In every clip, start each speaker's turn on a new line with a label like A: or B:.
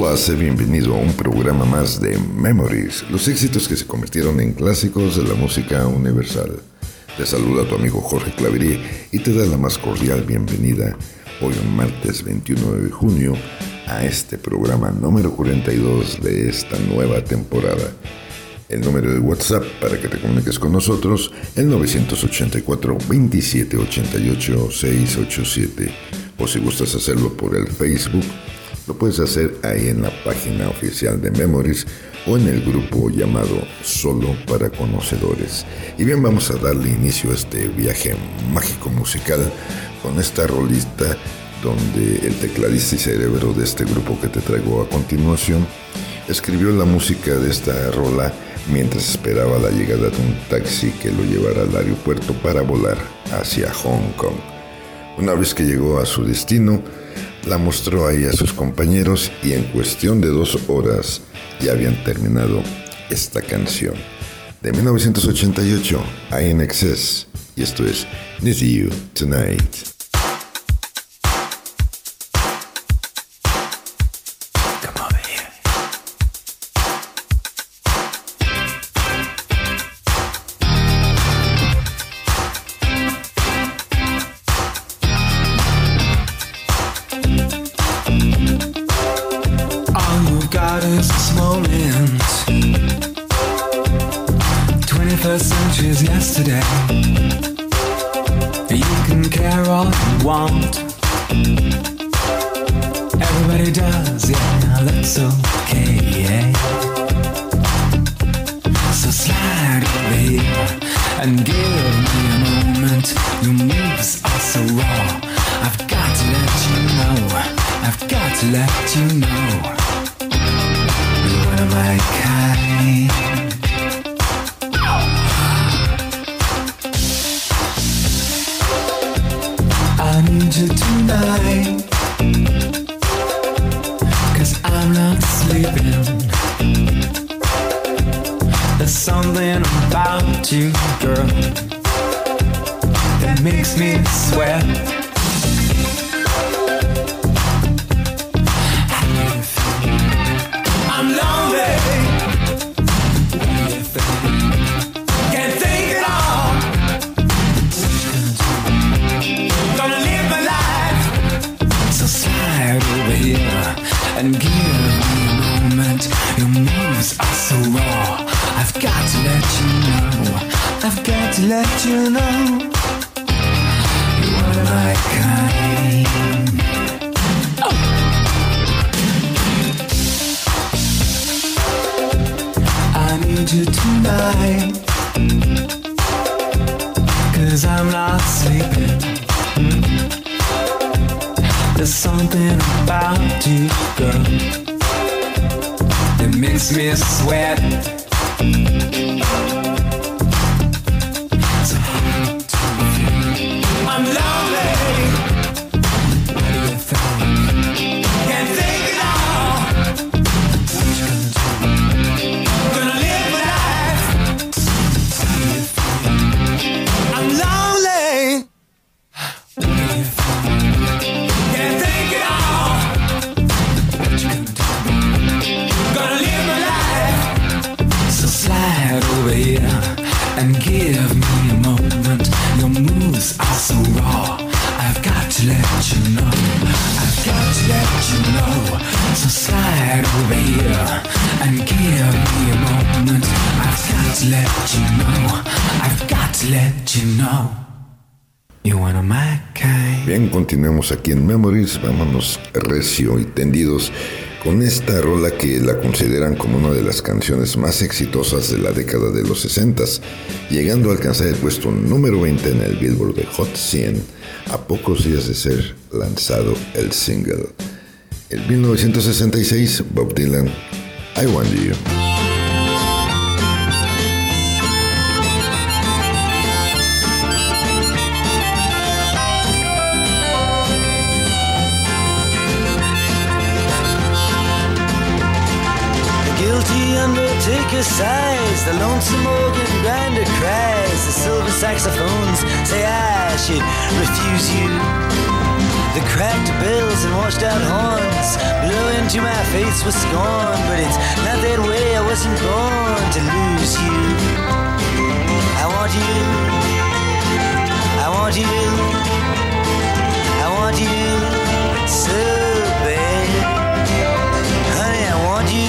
A: Hola, sé bienvenido a un programa más de Memories, los éxitos que se convirtieron en clásicos de la música universal. Te saluda tu amigo Jorge Claverie y te da la más cordial bienvenida hoy, un martes 21 de junio, a este programa número 42 de esta nueva temporada. El número de WhatsApp para que te comuniques con nosotros, el 984-2788-687. O si gustas hacerlo por el Facebook, lo puedes hacer ahí en la página oficial de Memories o en el grupo llamado Solo para Conocedores. Y bien, vamos a darle inicio a este viaje mágico musical con esta rolista donde el tecladista y cerebro de este grupo que te traigo a continuación escribió la música de esta rola mientras esperaba la llegada de un taxi que lo llevara al aeropuerto para volar hacia Hong Kong. Una vez que llegó a su destino, la mostró ahí a sus compañeros y en cuestión de 2 horas ya habían terminado esta canción de 1988, INXS, y esto es Need You Tonight.
B: Yesterday, you can care all you want. Everybody does, yeah, that's okay, yeah. So slide over here and give me a moment. Your moves are so raw. I've got to let you know. I've got to let you know. You're one of my kind. I need you tonight, 'cause I'm not sleeping. There's something about you, girl, that makes me sweat. I'm lonely. What do you think? Can't think at all. Gonna live my life. So slide over here and give me a moment. Your moves are so raw. I've got to let you know. I've got to let you know. You're one of my kind. Oh. I need you tonight, 'cause I'm not sleeping. There's something about you, girl, that makes me sweat. So hard to feel. I'm lonely. What do you think? Can't think at all. What you gonna do? Gonna live my life. How do you feel? I'm lonely. What do you think? Can't think at all. What you gonna do? Gonna live my life. So slide over here and give me a moment. Your moves are so raw. I've got to let you know. I've got to let you know. So slide over here and give me a moment. I've got to let you know. I've got to let you know. You're one of my kind.
A: Bien, continuemos aquí en Memories. Vámonos recio y tendidos con esta rola que la consideran como una de las canciones más exitosas de la década de los 60s, llegando a alcanzar el puesto número 20 en el Billboard de Hot 100 a pocos días de ser lanzado el single. En 1966, Bob Dylan, I Want You.
C: Undertaker sighs, the lonesome organ grinder cries, the silver saxophones say I should refuse you. The cracked bells and washed out horns blow into my face with scorn, but it's not that way. I wasn't born to lose you. I want you. I want you. I want you so bad. Honey, I want you.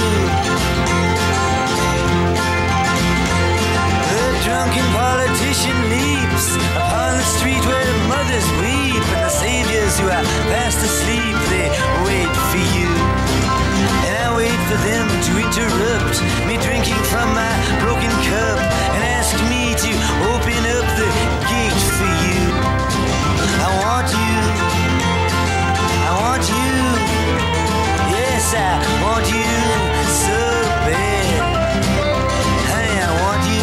C: The drunken politician leaps upon the street where mothers weep, and the saviors who are fast asleep, they wait for you. And I wait for them to interrupt me drinking from my broken cup and ask me to open up the gate for you. I want you. I want you. Yes, I want you so bad. Honey, I want you.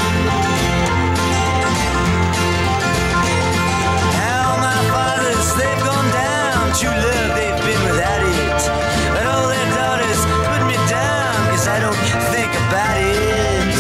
C: Now my fathers, they've gone down. True love, they've been without it. But all their daughters put me down, 'cause I don't think about it.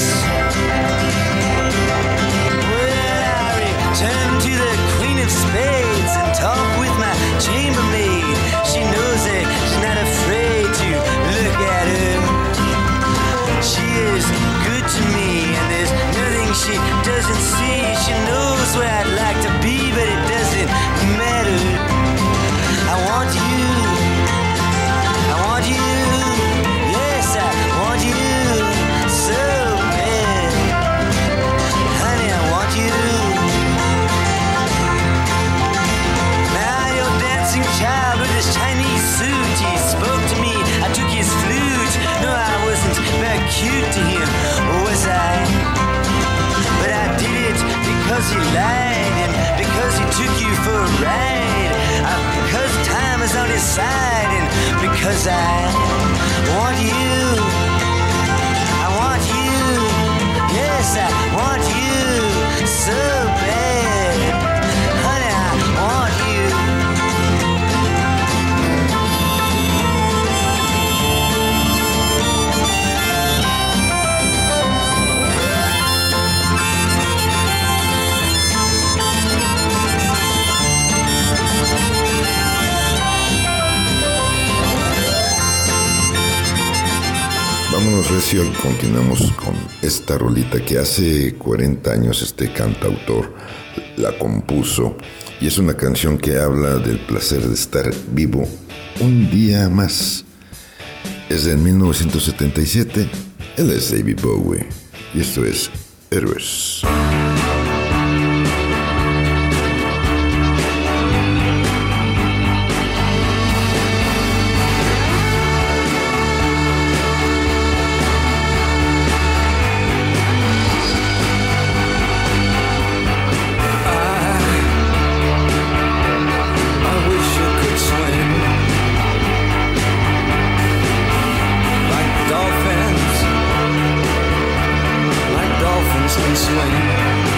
C: Well, I return to the Queen of Spades and talk with my chambermaid. She knows that she's not afraid to look at her. She is good to me, and there's nothing she doesn't see. She knows where I'd like to be, but it doesn't matter. I want you. I want you. Yes, I want you so bad. Honey, I want you. Now your dancing child with his Chinese suit, he spoke to me, I took his flute. No, I wasn't very cute to him, was I? But I did it because he lied, and because he took you for a ride. Because time is on his side, and because I want you. I want you. Yes, I want you so bad. Honey, I want you.
A: Vámonos recio, continuamos con esta rolita que hace 40 años este cantautor la compuso, y es una canción que habla del placer de estar vivo un día más. Es de 1977, él es David Bowie, y esto es Héroes.
B: Can swing.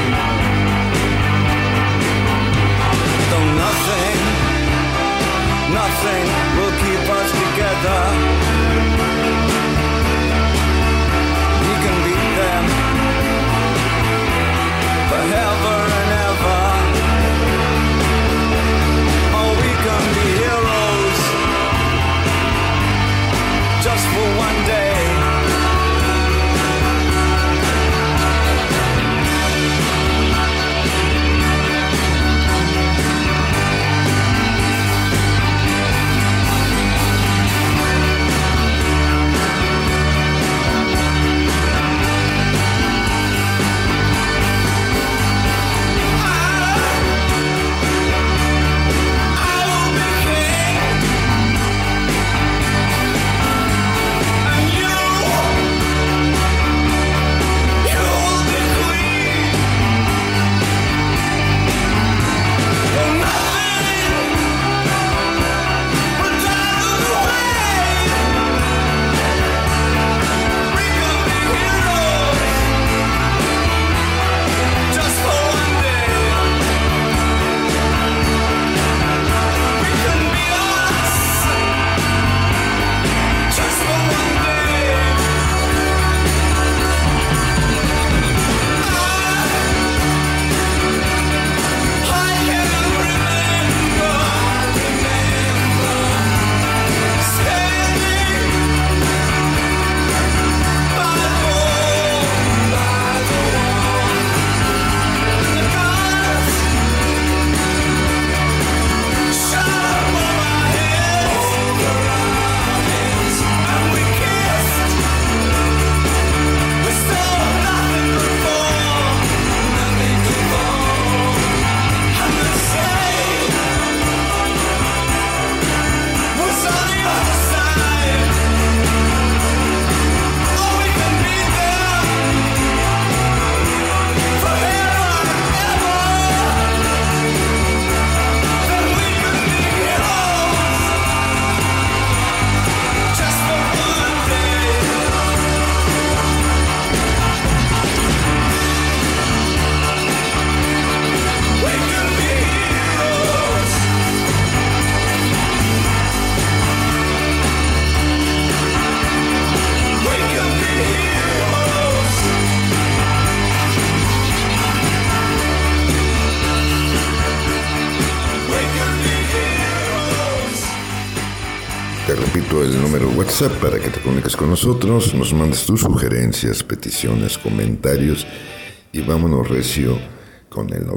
A: repito el número WhatsApp para que te comuniques con nosotros, nos mandes tus sugerencias, peticiones, comentarios y vámonos recio con el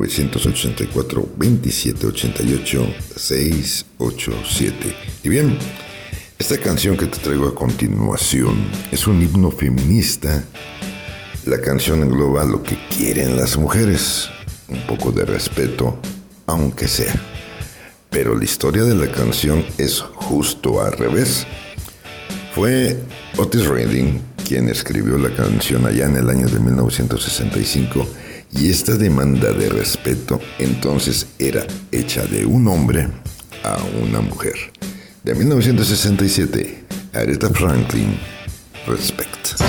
A: 984-2788-687. Y bien, esta canción que te traigo a continuación es un himno feminista. La canción engloba lo que quieren las mujeres, un poco de respeto, aunque sea. Pero la historia de la canción es justo al revés. Fue Otis Redding quien escribió la canción allá en el año de 1965 y esta demanda de respeto entonces era hecha de un hombre a una mujer. De 1967, Aretha Franklin, Respect.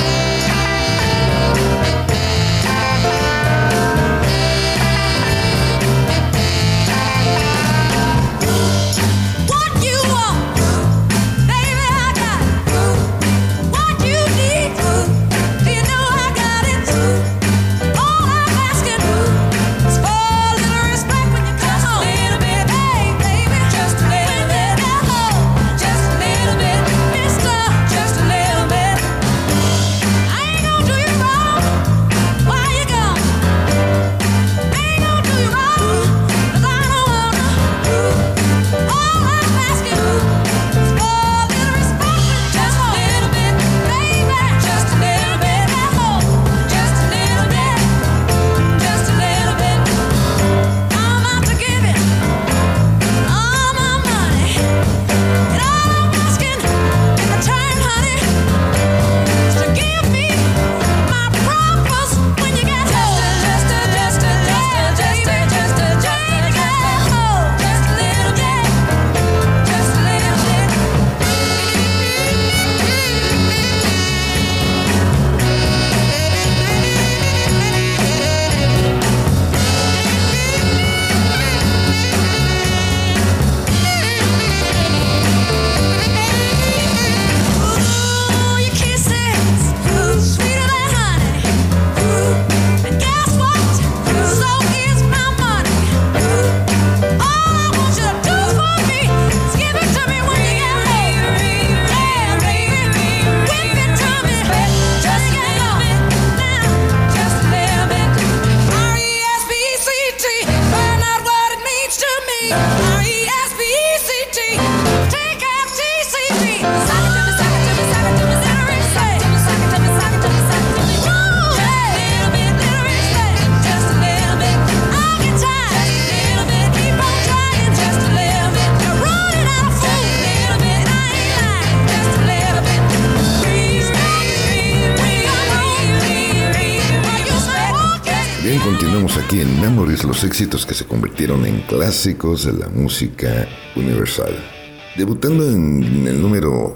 A: Continuamos aquí en Memories, los éxitos que se convirtieron en clásicos de la música universal. Debutando en el número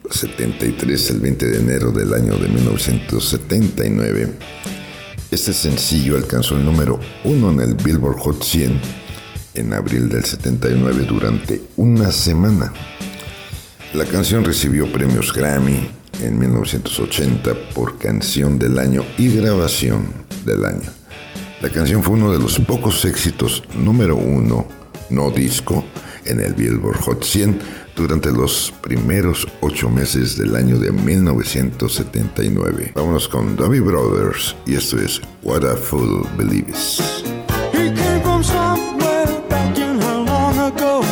A: 73 el 20 de enero del año de 1979, este sencillo alcanzó el número 1 en el Billboard Hot 100 en abril del 79 durante una semana. La canción recibió premios Grammy en 1980 por Canción del Año y Grabación del Año. La canción fue uno de los pocos éxitos número 1 no disco en el Billboard Hot 100 durante los primeros 8 meses del año de 1979. Vámonos con Doobie Brothers y esto es What a Fool Believes.
D: He came from somewhere back in how long ago.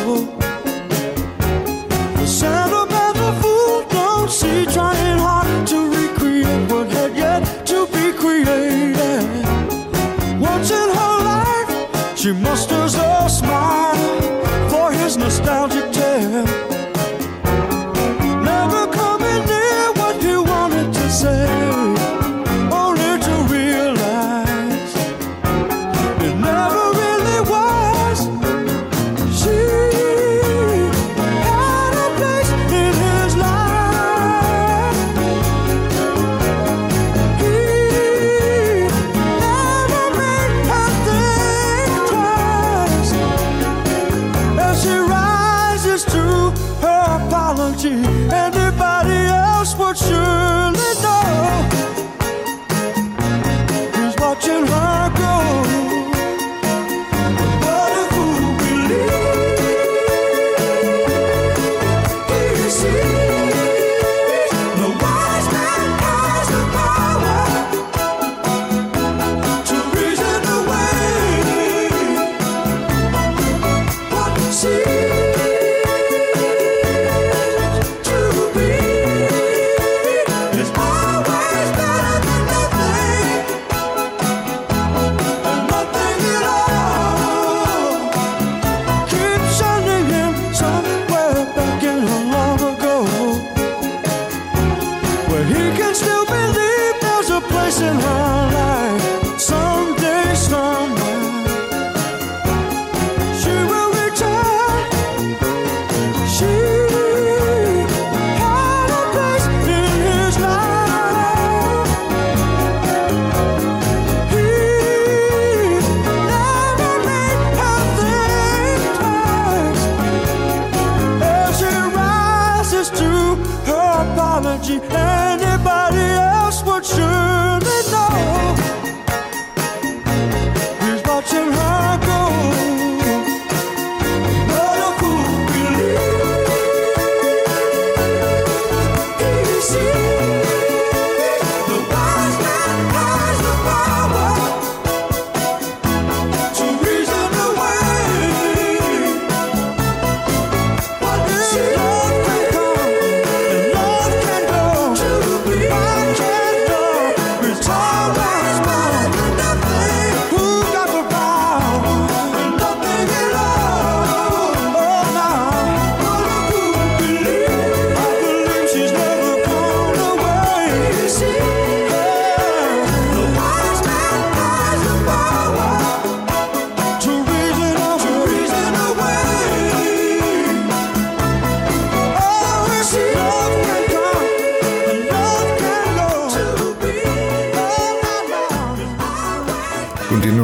D: The sentimental fool don't see, trying hard to recreate what had yet to be created. Once in her life, she musters a smile for his nostalgic tale. Never coming near what he wanted to say, only to realize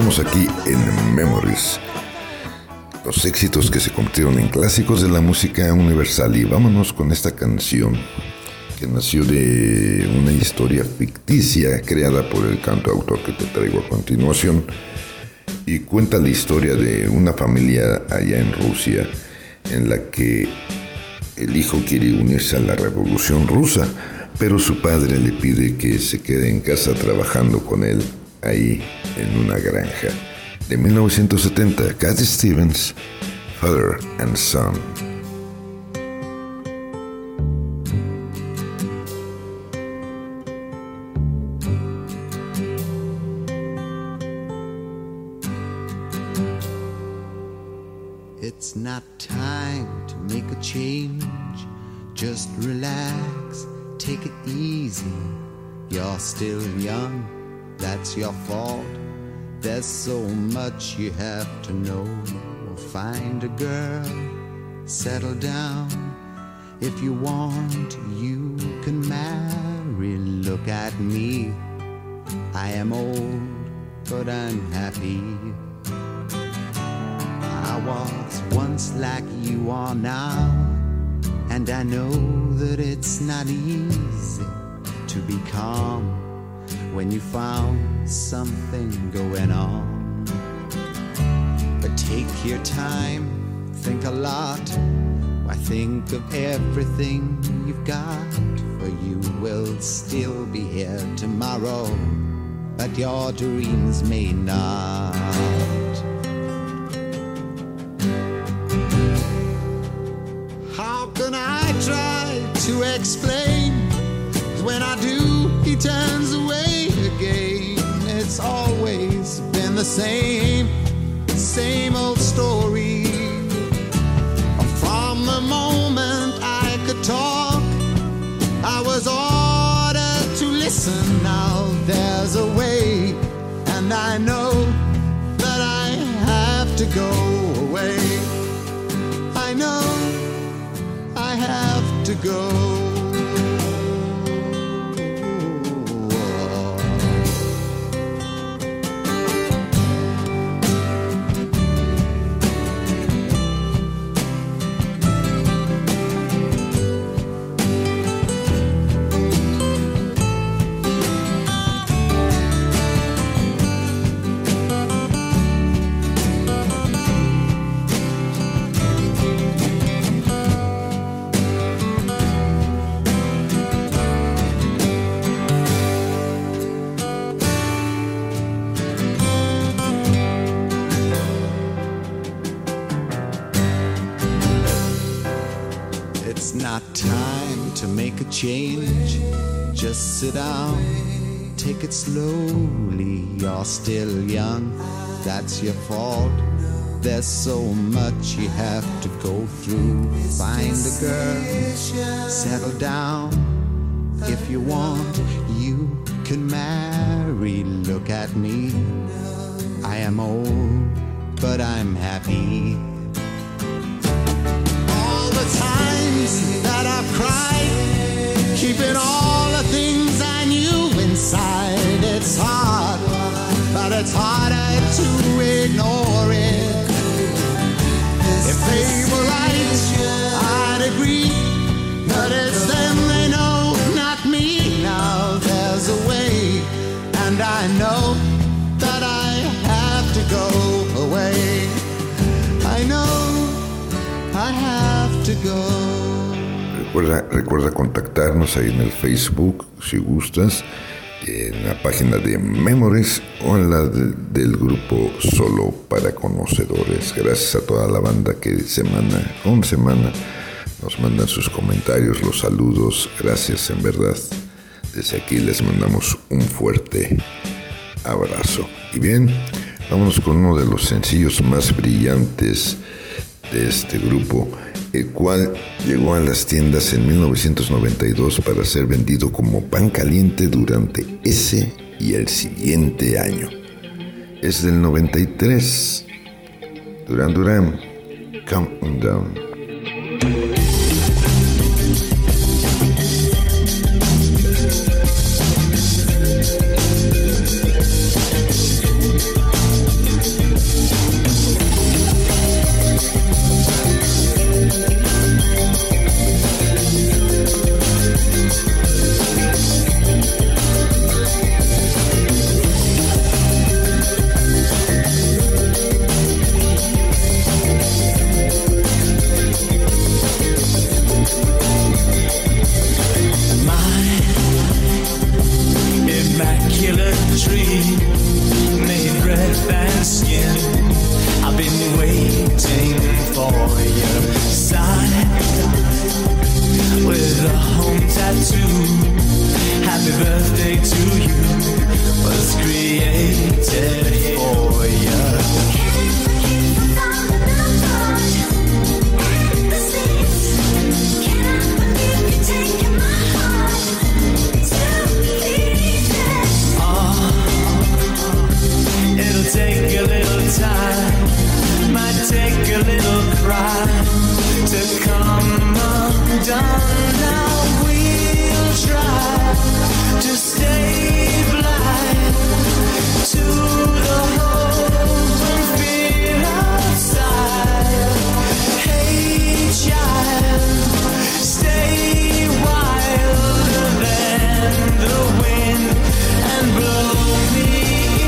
A: Continuamos aquí en Memories, los éxitos que se convirtieron en clásicos de la música universal. Y vámonos con esta canción que nació de una historia ficticia creada por el cantautor que te traigo a continuación, y cuenta la historia de una familia allá en Rusia en la que el hijo quiere unirse a la Revolución Rusa, pero su padre le pide que se quede en casa trabajando con él ahí en una granja. De 1970, Cat Stevens, Father and Son.
E: It's not time to make a change. Just relax, take it easy. You're still young, that's your fault. There's so much you have to know. Find a girl, settle down. If you want, you can marry. Look at me, I am old, but I'm happy. I was once like you are now, and I know that it's not easy to be calm when you found something going on. But take your time, think a lot. Why, think of everything you've got, for you will still be here tomorrow, but your dreams may not. How can I try to explain? When I do, he turns away again. It's always been the same old story. From the moment I could talk, I was ordered to listen. Now there's a way, and I know that I have to go away. I know I have to go. Change, just sit down, take it slowly. You're still young, that's your fault. There's so much you have to go through. Find a girl, settle down. If you want, you can marry. Look at me, I am old, but I'm happy. All the times that I've cried, keeping all the things I knew inside. It's hard, but it's harder to ignore it. If they were right, I'd agree, but it's them they know, not me. Now there's a way, and I know that I have to go away. I know I have to go.
A: Recuerda contactarnos ahí en el Facebook, si gustas, en la página de Memories o en la del grupo Solo para Conocedores. Gracias a toda la banda que semana con semana nos mandan sus comentarios, los saludos. Gracias, en verdad. Desde aquí les mandamos un fuerte abrazo. Y bien, vámonos con uno de los sencillos más brillantes de este grupo, el cual llegó a las tiendas en 1992 para ser vendido como pan caliente durante ese y el siguiente año. Es del 93. Duran Duran, Countdown.
B: regular dream, made breath and skin. I've been waiting for your side with a home tattoo. Happy birthday to you, was created for you. Take a little time, might take a little cry to come undone. Now we'll try to stay blind to the hope and fear outside. Hey child, stay wilder than the wind and blow me.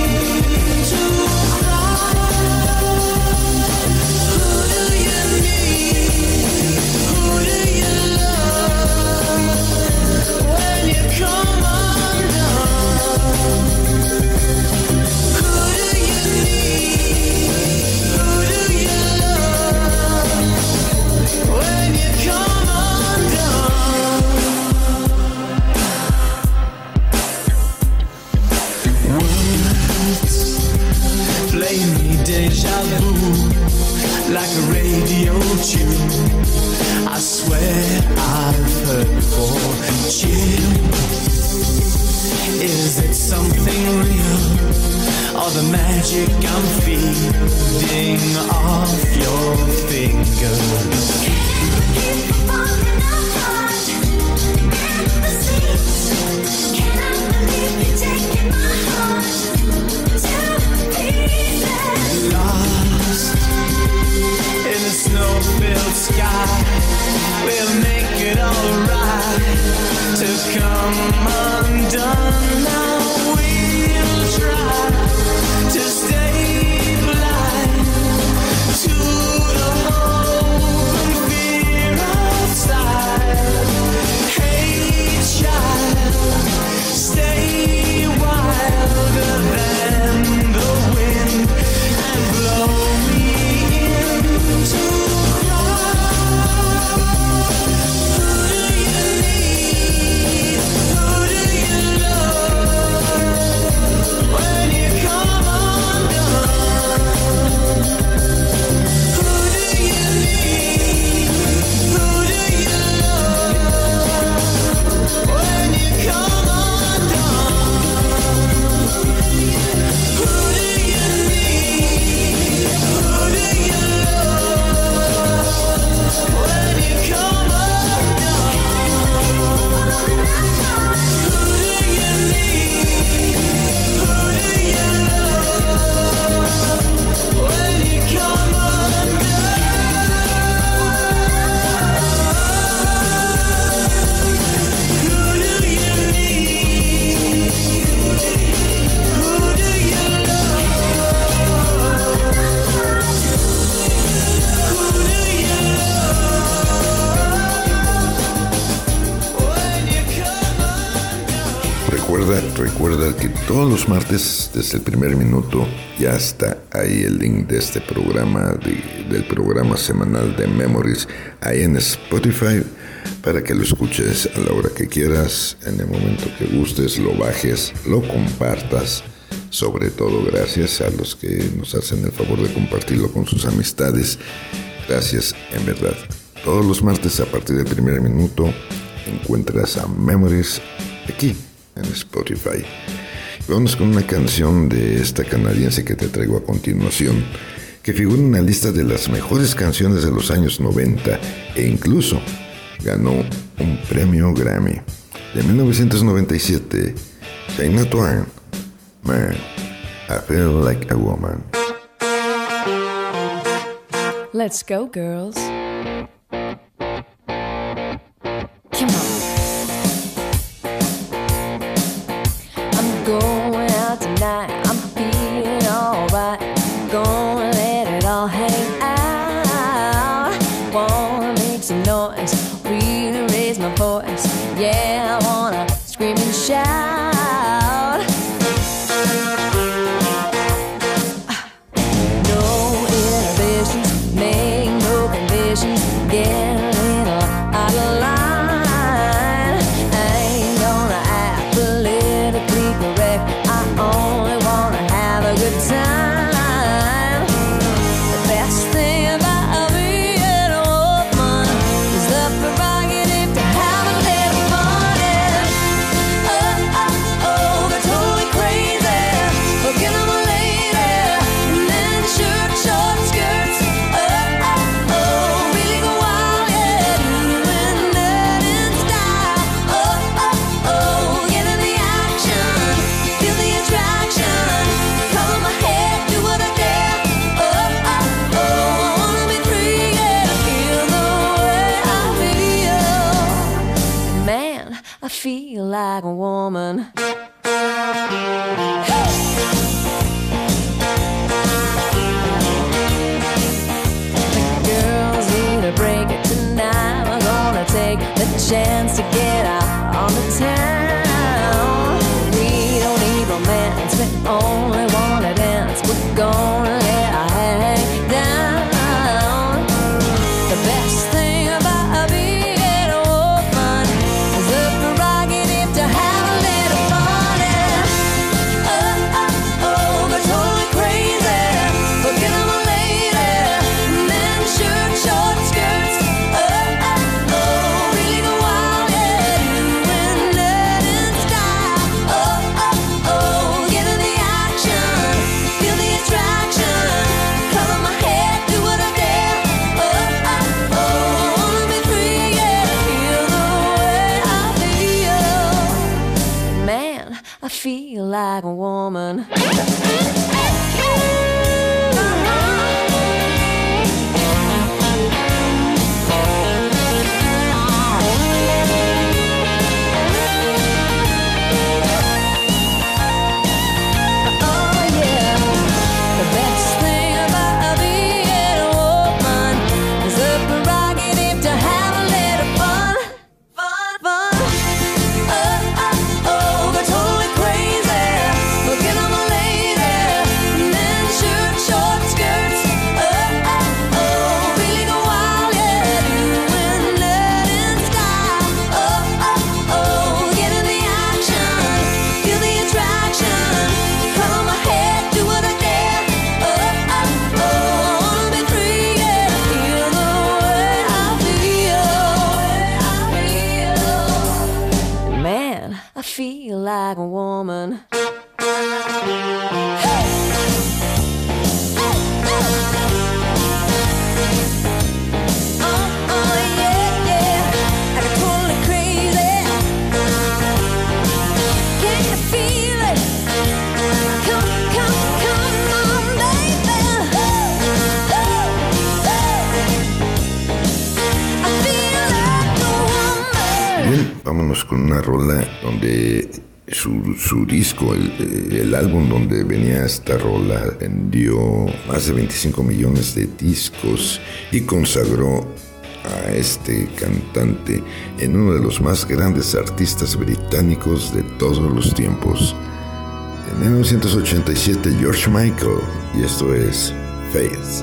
B: Like a radio tune, I swear I've heard before. Chill, is it something real, or the magic I'm feeding off your fingers? Keep falling apart in the seams. Cannot believe you're taking my heart to pieces. Lost in a snow-filled sky, we'll make it alright to come undone. Now we'll try to stay blind to the hope and fear outside. Hey child, stay wilder than the wind and blow me into Recuerda que todos los martes, desde el primer minuto, ya está ahí el link de este programa, del programa semanal de Memories, ahí en Spotify, para que lo escuches a la hora que quieras, en el momento que gustes, lo bajes, lo compartas. Sobre todo, gracias a los que nos hacen el favor de compartirlo con sus amistades. Gracias, en verdad. Todos los martes, a partir del primer minuto, encuentras a Memories aquí en Spotify. Vamos con una canción de esta canadiense que te traigo a continuación, que figura en una lista de las mejores canciones de los años 90 e incluso ganó un premio Grammy. De 1997, Shania Twain, Man, I Feel Like a Woman.
F: Let's go, girls. Come on. Going out tonight, I'm feeling alright. Gonna let it all hang out. Wanna make some noise, really raise my voice. Yeah, I wanna scream and shout. feel like a woman. Like a woman.
A: Bien, vámonos con una rola donde su disco, el álbum donde venía esta rola, vendió más de 25 millones de discos y consagró a este cantante en uno de los más grandes artistas británicos de todos los tiempos. En 1987, George Michael, y esto es Faith.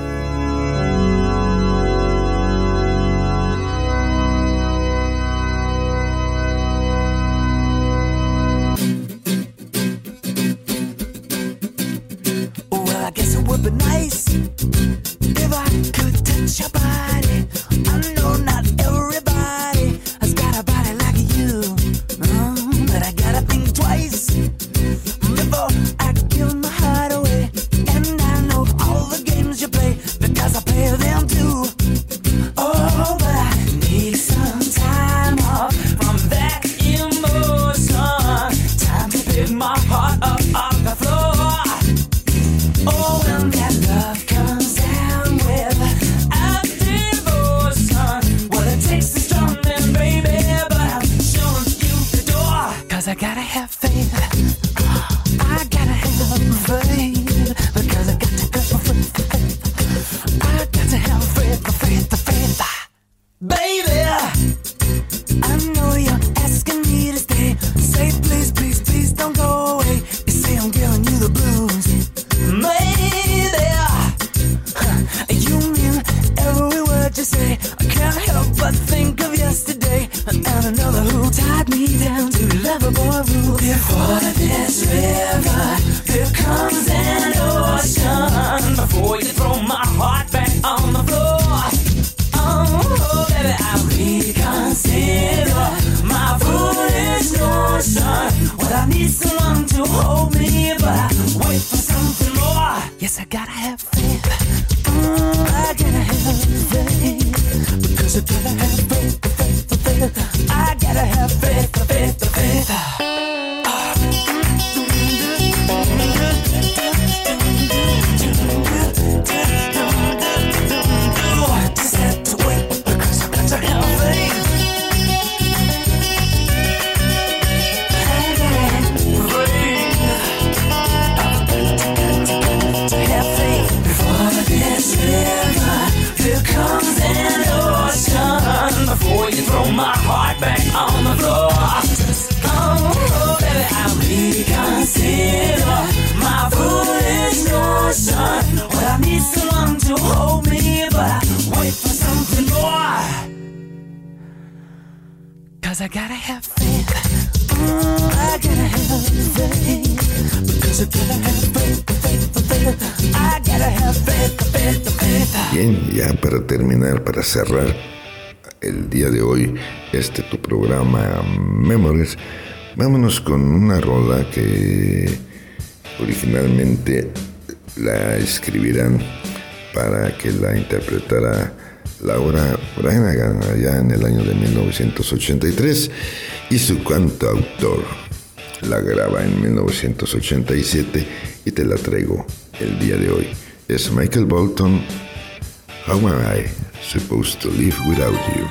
A: Bien, ya para terminar, para cerrar el día de hoy, tu programa Memories, vámonos con una rola que originalmente la escribirán para que la interpretara Laura Branigan allá en el año de 1983, y su cantautor la graba en 1987 y te la traigo el día de hoy. Es Michael Bolton, How Am I Supposed to Live Without You?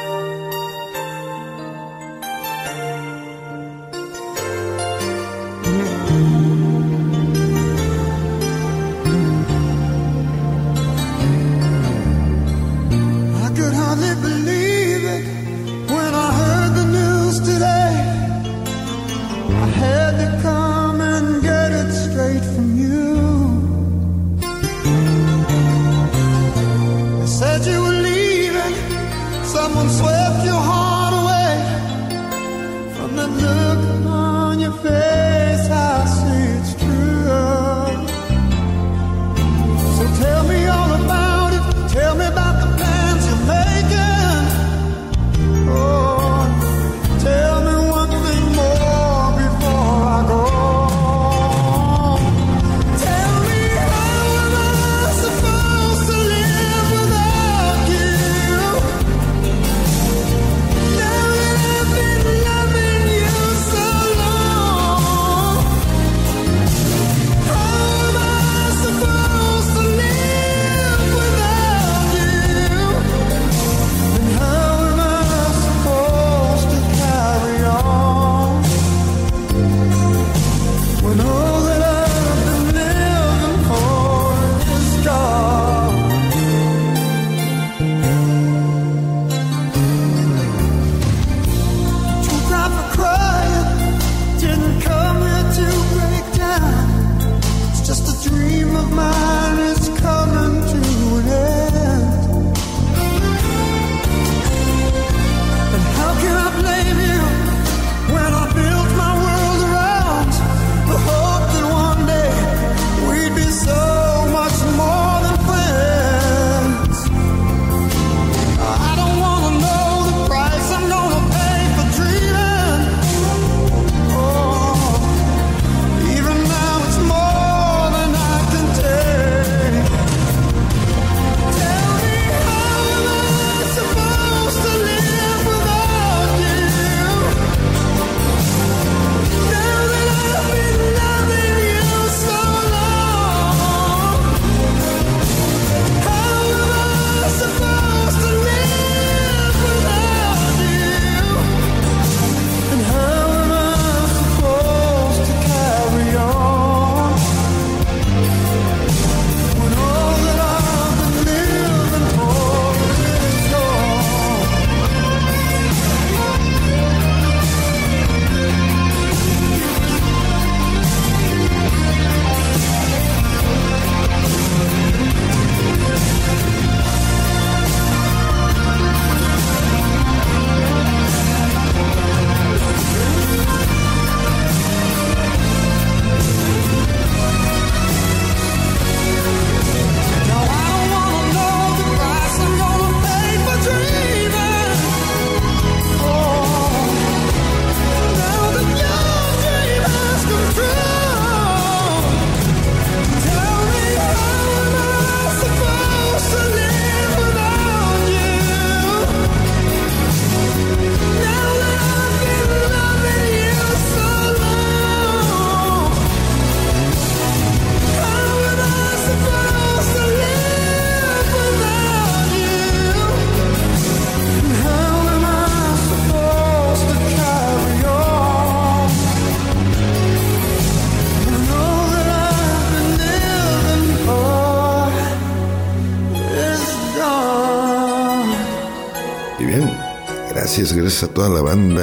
A: Gracias a toda la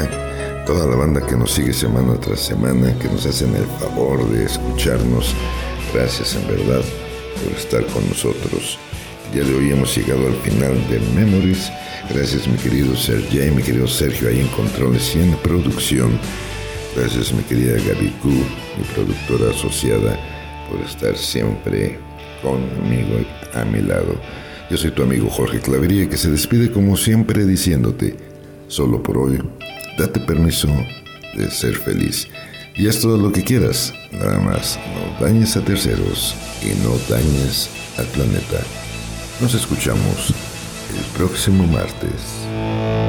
A: banda que nos sigue semana tras semana, que nos hacen el favor de escucharnos. Gracias en verdad por estar con nosotros. El día de hoy hemos llegado al final de Memories. Gracias mi querido Sergey, mi querido Sergio ahí en controles y en producción. Gracias mi querida Gaby Q, mi productora asociada, por estar siempre conmigo a mi lado. Yo soy tu amigo Jorge Clavería, que se despide como siempre diciéndote: solo por hoy, date permiso de ser feliz. Y haz todo lo que quieras, nada más no dañes a terceros y no dañes al planeta. Nos escuchamos el próximo martes.